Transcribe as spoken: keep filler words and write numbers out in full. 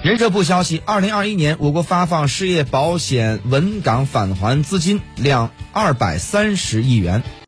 人社部消息，二零二一年我国发放失业保险稳岗返还资金量二百三十亿元。